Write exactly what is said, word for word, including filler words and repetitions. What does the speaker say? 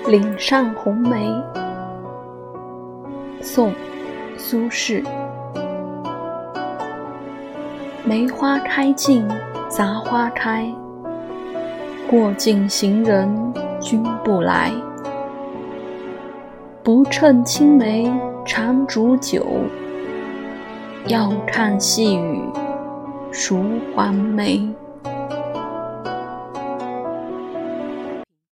岭上红梅，宋·苏轼。梅花开尽杂花开，过尽行人君不来。不趁青梅长煮酒，要看细雨疏还眉。